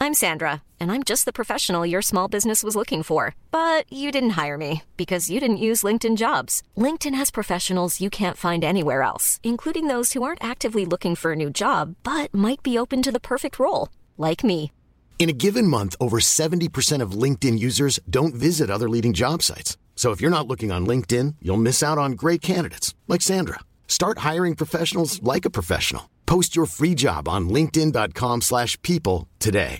I'm Sandra, and I'm just the professional your small business was looking for. But you didn't hire me because you didn't use LinkedIn Jobs. LinkedIn has professionals you can't find anywhere else, including those who aren't actively looking for a new job, but might be open to the perfect role, like me. In a given month, over 70% of LinkedIn users don't visit other leading job sites. So if you're not looking on LinkedIn, you'll miss out on great candidates like Sandra. Start hiring professionals like a professional. Post your free job on linkedin.com/people today.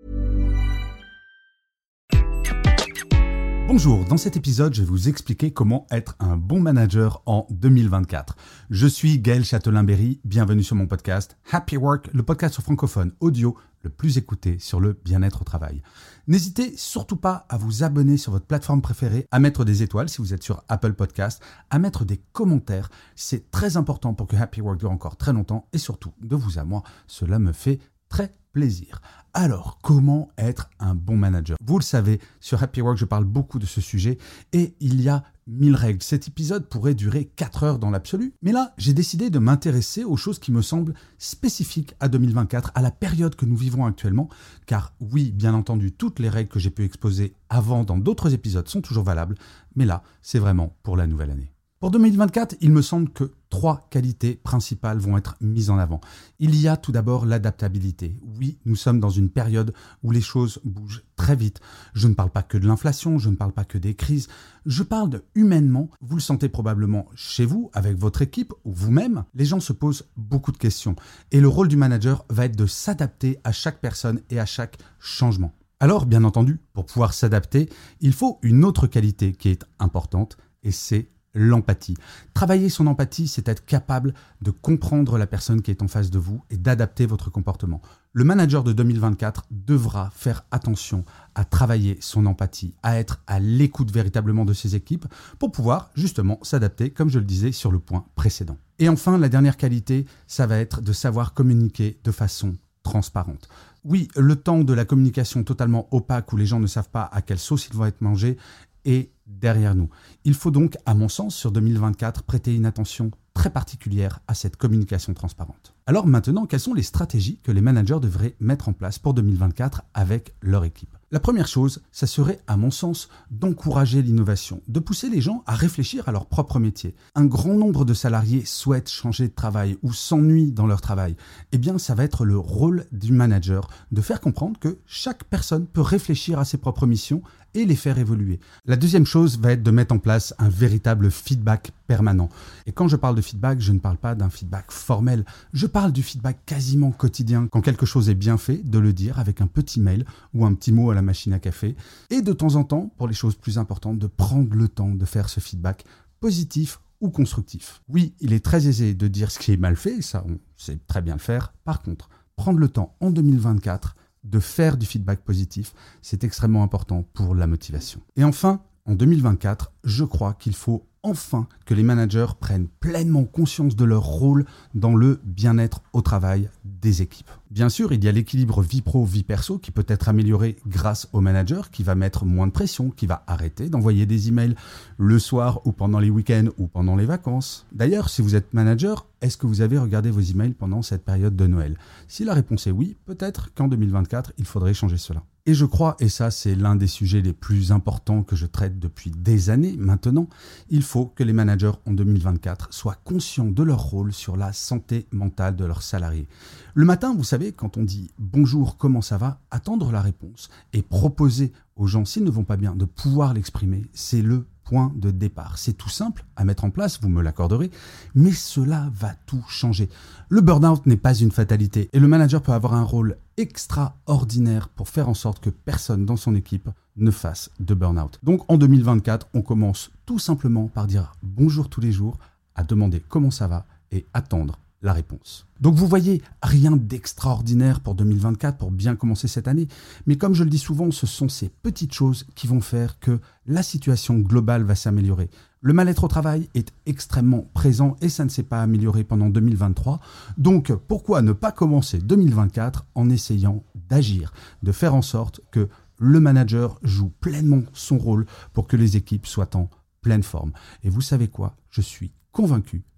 Bonjour, dans cet épisode, je vais vous expliquer comment être un bon manager en 2024. Je suis Gaël Châtelain-Berry, bienvenue sur mon podcast Happy Work, le podcast francophone audio le plus écouté sur le bien-être au travail. N'hésitez surtout pas à vous abonner sur votre plateforme préférée, à mettre des étoiles si vous êtes sur Apple Podcast, à mettre des commentaires. C'est très important pour que Happy Work dure encore très longtemps et surtout, de vous à moi, cela me fait très plaisir. Alors, comment être un bon manager ? Vous le savez, sur Happy Work, je parle beaucoup de ce sujet et il y a 1000 règles. Cet épisode pourrait durer 4 heures dans l'absolu, mais là, j'ai décidé de m'intéresser aux choses qui me semblent spécifiques à 2024, à la période que nous vivons actuellement, car oui, bien entendu, toutes les règles que j'ai pu exposer avant dans d'autres épisodes sont toujours valables, mais là, c'est vraiment pour la nouvelle année. Pour 2024, il me semble que 3 qualités principales vont être mises en avant. Il y a tout d'abord l'adaptabilité. Oui, nous sommes dans une période où les choses bougent très vite. Je ne parle pas que de l'inflation, je ne parle pas que des crises. Je parle de humainement. Vous le sentez probablement chez vous, avec votre équipe ou vous-même. Les gens se posent beaucoup de questions. Et le rôle du manager va être de s'adapter à chaque personne et à chaque changement. Alors, bien entendu, pour pouvoir s'adapter, il faut une autre qualité qui est importante et c'est l'empathie. Travailler son empathie, c'est être capable de comprendre la personne qui est en face de vous et d'adapter votre comportement. Le manager de 2024 devra faire attention à travailler son empathie, à être à l'écoute véritablement de ses équipes pour pouvoir justement s'adapter, comme je le disais sur le point précédent. Et enfin, la dernière qualité, ça va être de savoir communiquer de façon transparente. Oui, le temps de la communication totalement opaque où les gens ne savent pas à quelle sauce ils vont être mangés est derrière nous. Il faut donc, à mon sens, sur 2024, prêter une attention très particulière à cette communication transparente. Alors maintenant, quelles sont les stratégies que les managers devraient mettre en place pour 2024 avec leur équipe ? La première chose, ça serait, à mon sens, d'encourager l'innovation, de pousser les gens à réfléchir à leur propre métier. Un grand nombre de salariés souhaitent changer de travail ou s'ennuient dans leur travail. Eh bien, ça va être le rôle du manager de faire comprendre que chaque personne peut réfléchir à ses propres missions et les faire évoluer. La deuxième chose va être de mettre en place un véritable feedback permanent. Et quand je parle de feedback, je ne parle pas d'un feedback formel, je parle du feedback quasiment quotidien. Quand quelque chose est bien fait, de le dire avec un petit mail ou un petit mot à la machine à café. Et de temps en temps, pour les choses plus importantes, de prendre le temps de faire ce feedback positif ou constructif. Oui, il est très aisé de dire ce qui est mal fait, ça on sait très bien le faire. Par contre, prendre le temps en 2024 de faire du feedback positif, c'est extrêmement important pour la motivation. Et enfin, en 2024, je crois qu'il faut enfin que les managers prennent pleinement conscience de leur rôle dans le bien-être au travail des équipes. Bien sûr, il y a l'équilibre vie pro, vie perso qui peut être amélioré grâce au manager qui va mettre moins de pression, qui va arrêter d'envoyer des emails le soir ou pendant les week-ends ou pendant les vacances. D'ailleurs, si vous êtes manager, est-ce que vous avez regardé vos emails pendant cette période de Noël ? Si la réponse est oui, peut-être qu'en 2024, il faudrait changer cela. Et je crois, et ça c'est l'un des sujets les plus importants que je traite depuis des années maintenant, il faut que les managers en 2024 soient conscients de leur rôle sur la santé mentale de leurs salariés. Le matin, vous savez, quand on dit « bonjour, comment ça va ?», attendre la réponse et proposer aux gens, s'ils ne vont pas bien, de pouvoir l'exprimer, c'est le point de départ. C'est tout simple à mettre en place, vous me l'accorderez, mais cela va tout changer. Le burn-out n'est pas une fatalité et le manager peut avoir un rôle extraordinaire pour faire en sorte que personne dans son équipe ne fasse de burn-out. Donc en 2024, on commence tout simplement par dire bonjour tous les jours, à demander comment ça va et attendre la réponse. Donc vous voyez, rien d'extraordinaire pour 2024 pour bien commencer cette année, mais comme je le dis souvent, ce sont ces petites choses qui vont faire que la situation globale va s'améliorer. Le mal-être au travail est extrêmement présent et ça ne s'est pas amélioré pendant 2023. Donc pourquoi ne pas commencer 2024 en essayant d'agir, de faire en sorte que le manager joue pleinement son rôle pour que les équipes soient en pleine forme. Et vous savez quoi ? Je suis convaincu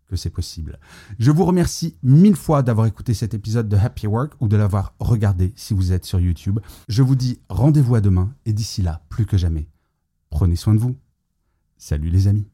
que c'est possible. Je vous remercie 1000 fois d'avoir écouté cet épisode de Happy Work ou de l'avoir regardé si vous êtes sur YouTube. Je vous dis rendez-vous à demain et d'ici là, plus que jamais, prenez soin de vous. Salut les amis.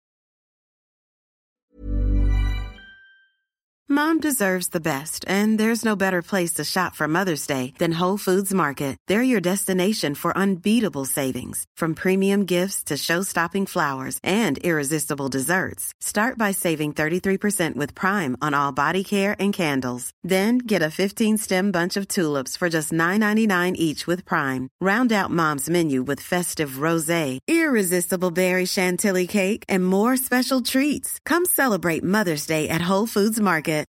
Mom deserves the best, and there's no better place to shop for Mother's Day than Whole Foods Market. They're your destination for unbeatable savings, from premium gifts to show-stopping flowers and irresistible desserts. Start by saving 33% with Prime on all body care and candles. Then get a 15-stem bunch of tulips for just $9.99 each with Prime. Round out Mom's menu with festive rosé, irresistible berry chantilly cake, and more special treats. Come celebrate Mother's Day at Whole Foods Market.